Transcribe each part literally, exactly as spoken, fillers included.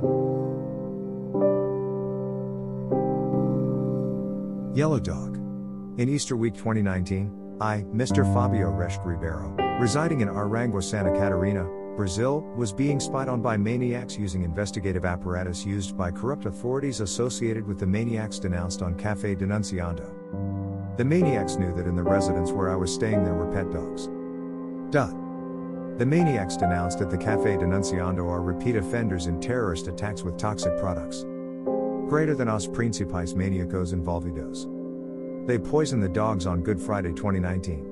Yellow Dog. In Easter week twenty nineteen, I, Mister Fabio Resch Ribeiro, residing in Aranguá, Santa Catarina, Brazil, was being spied on by maniacs using investigative apparatus used by corrupt authorities associated with the maniacs denounced on Café Denunciando. The maniacs knew that in the residence where I was staying there were pet dogs. Dot. The maniacs denounced at the Café Denunciando are repeat offenders in terrorist attacks with toxic products. Greater than os principais maníacos envolvidos. They poisoned the dogs on Good Friday twenty nineteen.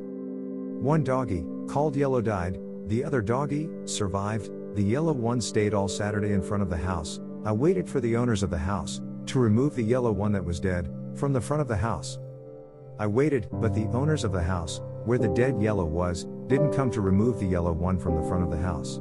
One doggy, called Yellow, died. The other doggy survived. The yellow one stayed all Saturday in front of the house. I waited for the owners of the house to remove the yellow one that was dead from the front of the house. I waited, but the owners of the house, where the dead yellow was, didn't come to remove the yellow one from the front of the house.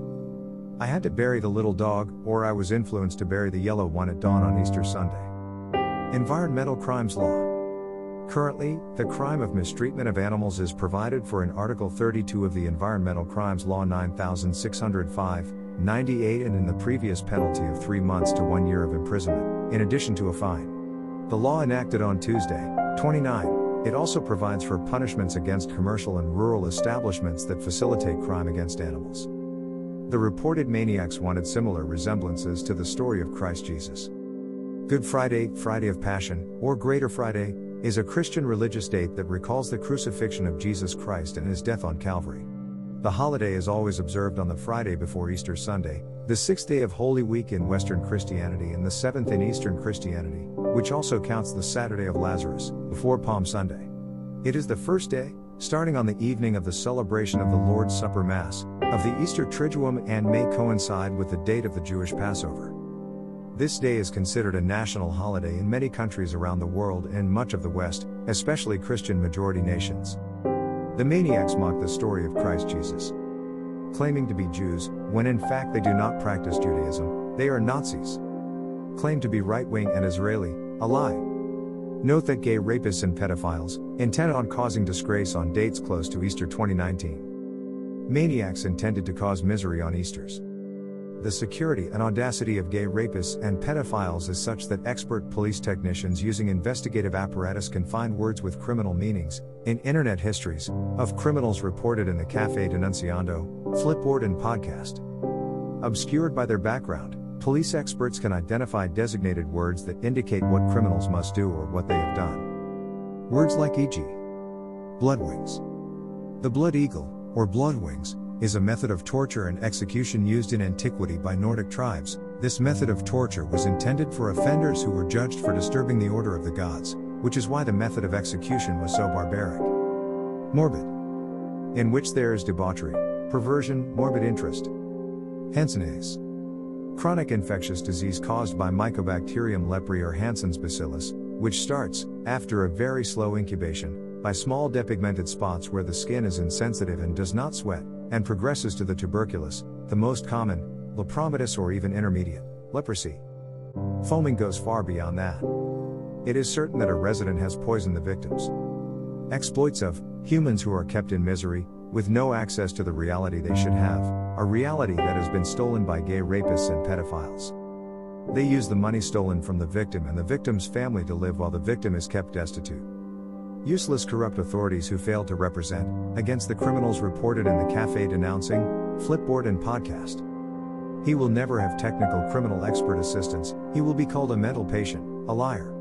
I had to bury the little dog, or I was influenced to bury the yellow one at dawn on Easter Sunday. Environmental Crimes Law. Currently, the crime of mistreatment of animals is provided for in Article thirty-two of the Environmental Crimes Law nine thousand six hundred five, ninety-eight and in the previous penalty of three months to one year of imprisonment, in addition to a fine. The law enacted on Tuesday, twenty-nine, it also provides for punishments against commercial and rural establishments that facilitate crime against animals. The reported maniacs wanted similar resemblances to the story of Christ Jesus. Good Friday, Friday of Passion, or Greater Friday, is a Christian religious date that recalls the crucifixion of Jesus Christ and his death on Calvary. The holiday is always observed on the Friday before Easter Sunday, the sixth day of Holy Week in Western Christianity and the seventh in Eastern Christianity, which also counts the Saturday of Lazarus, before Palm Sunday. It is the first day, starting on the evening of the celebration of the Lord's Supper Mass, of the Easter Triduum and may coincide with the date of the Jewish Passover. This day is considered a national holiday in many countries around the world and in much of the West, especially Christian majority nations. The maniacs mock the story of Christ Jesus, claiming to be Jews, when in fact they do not practice Judaism, they are Nazis. Claim to be right-wing and Israeli, a lie. Note that gay rapists and pedophiles, intent on causing disgrace on dates close to Easter twenty nineteen. Maniacs intended to cause misery on Easters. The security and audacity of gay rapists and pedophiles is such that expert police technicians using investigative apparatus can find words with criminal meanings, in internet histories, of criminals reported in the Café Denunciando, Flipboard and podcast. Obscured by their background, police experts can identify designated words that indicate what criminals must do or what they have done. Words like for example, bloodwings. The blood eagle, or bloodwings, is a method of torture and execution used in antiquity by Nordic tribes. This method of torture was intended for offenders who were judged for disturbing the order of the gods, which is why the method of execution was so barbaric. Morbid, in which there is debauchery, perversion, morbid interest. Hanseníase, chronic infectious disease caused by Mycobacterium leprae or Hansen's bacillus, which starts, after a very slow incubation, by small depigmented spots where the skin is insensitive and does not sweat, and progresses to the tuberculous, the most common, lepromatous or even intermediate, leprosy. Foaming goes far beyond that. It is certain that a resident has poisoned the victims. Exploits of humans who are kept in misery, with no access to the reality they should have, a reality that has been stolen by gay rapists and pedophiles. They use the money stolen from the victim and the victim's family to live while the victim is kept destitute. Useless corrupt authorities who fail to represent, against the criminals reported in the Café Denouncing, Flipboard and podcast. He will never have technical criminal expert assistance, he will be called a mental patient, a liar.